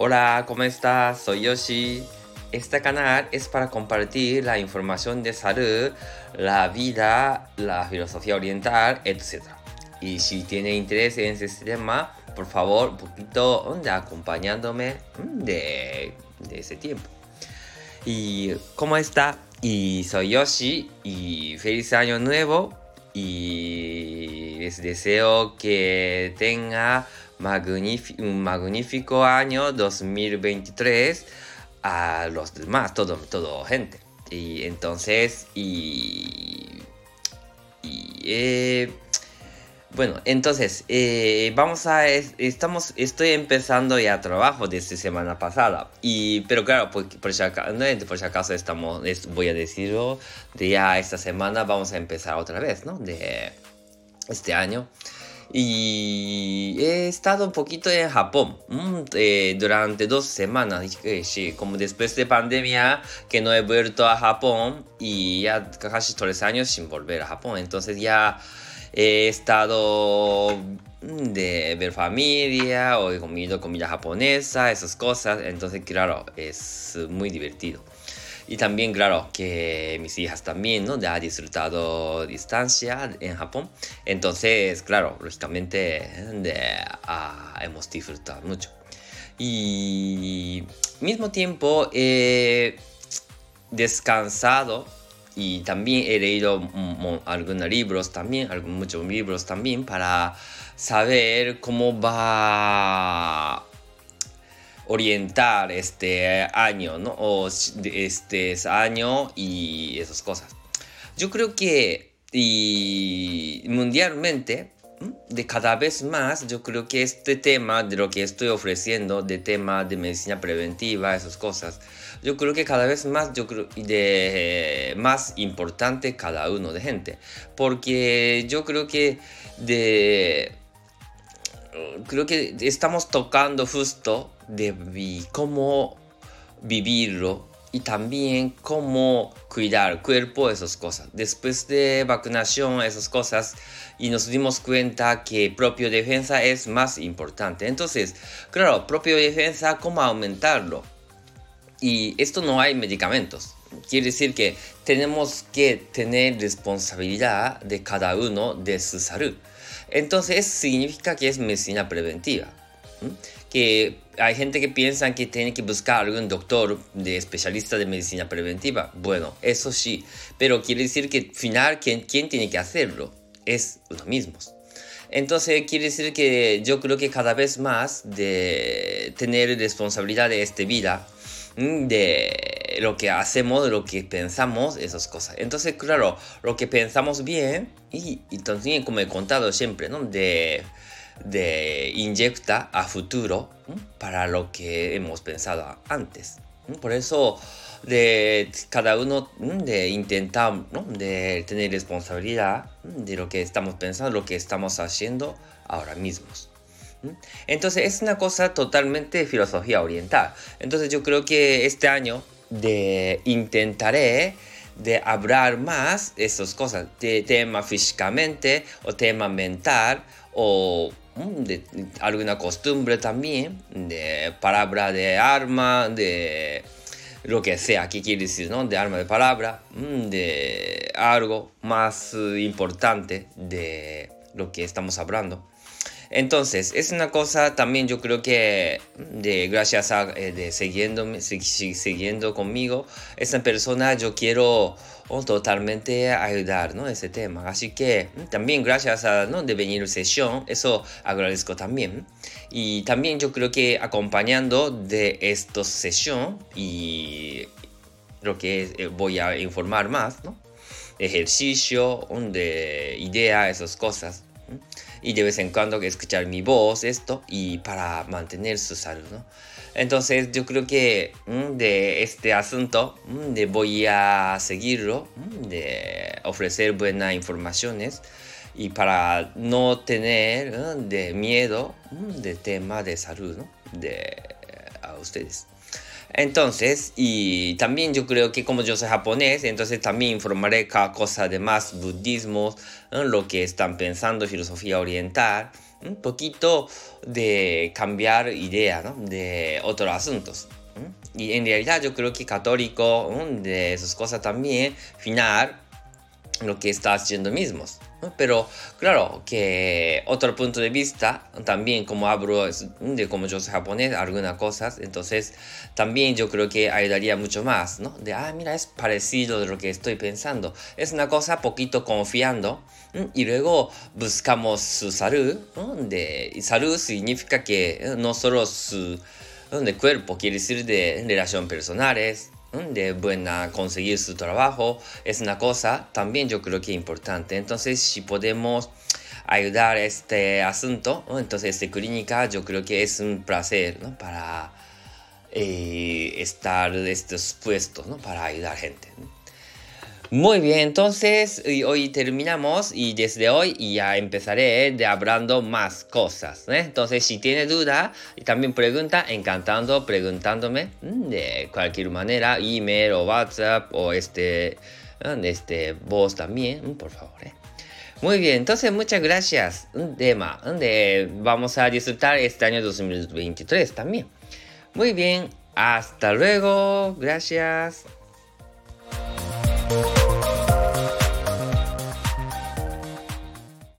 Hola, ¿cómo estás? Soy Yoshi. Este canal es para compartir la información de salud, la vida, la filosofía oriental, etc. Y si tiene interés en este tema, por favor, un poquito acompañándome de ese tiempo. ¿Y cómo está? Y soy Yoshi y feliz año nuevo y les deseo que tenga un magnífico año 2023 a los demás, todo gente. Y entonces, bueno, entonces, estoy empezando ya trabajo desde semana pasada. Pero claro, por si acaso voy a decirlo, de ya esta semana vamos a empezar otra vez, ¿no? De este año. Y he estado un poquito en Japón durante 2 semanas. Sí, como después de pandemia que no he vuelto a Japón y ya casi 3 años sin volver a Japón. Entonces ya he estado de ver familia o he comido comida japonesa, esas cosas. Entonces, claro, es muy divertido. Y también, claro, que mis hijas también, ¿no? Ya han disfrutado distancia en Japón. Entonces, claro, lógicamente hemos disfrutado mucho. Y mismo tiempo he descansado y también he leído algunos libros también, muchos libros también para saber cómo va orientar este año, ¿no? O este año y esas cosas. Yo creo que y mundialmente, de cada vez más, yo creo que este tema de lo que estoy ofreciendo, de tema de medicina preventiva, esas cosas, yo creo que cada vez más, más importante cada uno de gente. Porque yo creo que creo que estamos tocando justo de cómo vivirlo y también cómo cuidar el cuerpo, esas cosas. Después de vacunación, esas cosas, y nos dimos cuenta que propio defensa es más importante. Entonces, claro, propio defensa, ¿cómo aumentarlo? Y esto no hay medicamentos. Quiere decir que tenemos que tener responsabilidad de cada uno de su salud. Entonces significa que es medicina preventiva. Que hay gente que piensa que tiene que buscar algún doctor de especialista de medicina preventiva. Bueno, eso sí, pero quiere decir que al final quien tiene que hacerlo es uno mismo. Entonces quiere decir que yo creo que cada vez más de tener responsabilidad de esta vida, de lo que hacemos, de lo que pensamos, esas cosas. Entonces, claro, lo que pensamos bien, y también como he contado siempre, ¿no? De inyecta a futuro, ¿no? Para lo que hemos pensado antes, ¿no? Por eso de cada uno, ¿no? De intentar, ¿no? De tener responsabilidad, ¿no? De lo que estamos pensando, lo que estamos haciendo ahora mismos. Entonces es una cosa totalmente de filosofía oriental. Entonces yo creo que este año intentaré de hablar más de esas cosas, de tema físicamente o tema mental o de alguna costumbre también, de palabra de arma, de lo que sea, ¿qué quiere decir, no? De arma de palabra, de algo más importante de lo que estamos hablando. Entonces, es una cosa también yo creo que gracias a siguiendo conmigo, esa persona yo quiero totalmente ayudar, ¿no? Ese tema. Así que también gracias a ¿no? de venir a sesión, eso agradezco también. Y también yo creo que acompañando de esta sesión y lo que voy a informar más, ¿no? Ejercicio, de idea, esas cosas. Y de vez en cuando escuchar mi voz, esto, y para mantener su salud, ¿no? Entonces yo creo que de este asunto voy a seguirlo, de ofrecer buenas informaciones y para no tener de miedo de tema de salud, ¿no? A ustedes. Entonces, y también yo creo que como yo soy japonés, entonces también informaré cada cosa de más budismo, lo que están pensando, filosofía oriental, un poquito de cambiar idea, ¿no? De otros asuntos. Y en realidad yo creo que católico, de esas cosas también, final, lo que está haciendo mismos, ¿no? Pero claro que otro punto de vista, también como hablo de como yo soy japonés, algunas cosas, entonces también yo creo que ayudaría mucho más, ¿no? De, mira, es parecido de lo que estoy pensando. Es una cosa poquito confiando, y luego buscamos su salud, ¿no? Y salud significa que no solo su de cuerpo, quiere decir de relaciones personales, de buena conseguir su trabajo, es una cosa también yo creo que importante. Entonces, si podemos ayudar a este asunto, ¿no? Entonces esta clínica yo creo que es un placer, ¿no? Para estar en estos puestos, ¿no? Para ayudar gente, ¿no? Muy bien, entonces hoy terminamos y desde hoy ya empezaré de hablando más cosas, ¿eh? Entonces si tiene duda y también pregunta, encantando preguntándome de cualquier manera, email o WhatsApp o voz también, por favor, ¿eh? Muy bien, entonces muchas gracias, Dema, vamos a disfrutar este año 2023 también. Muy bien, hasta luego, gracias.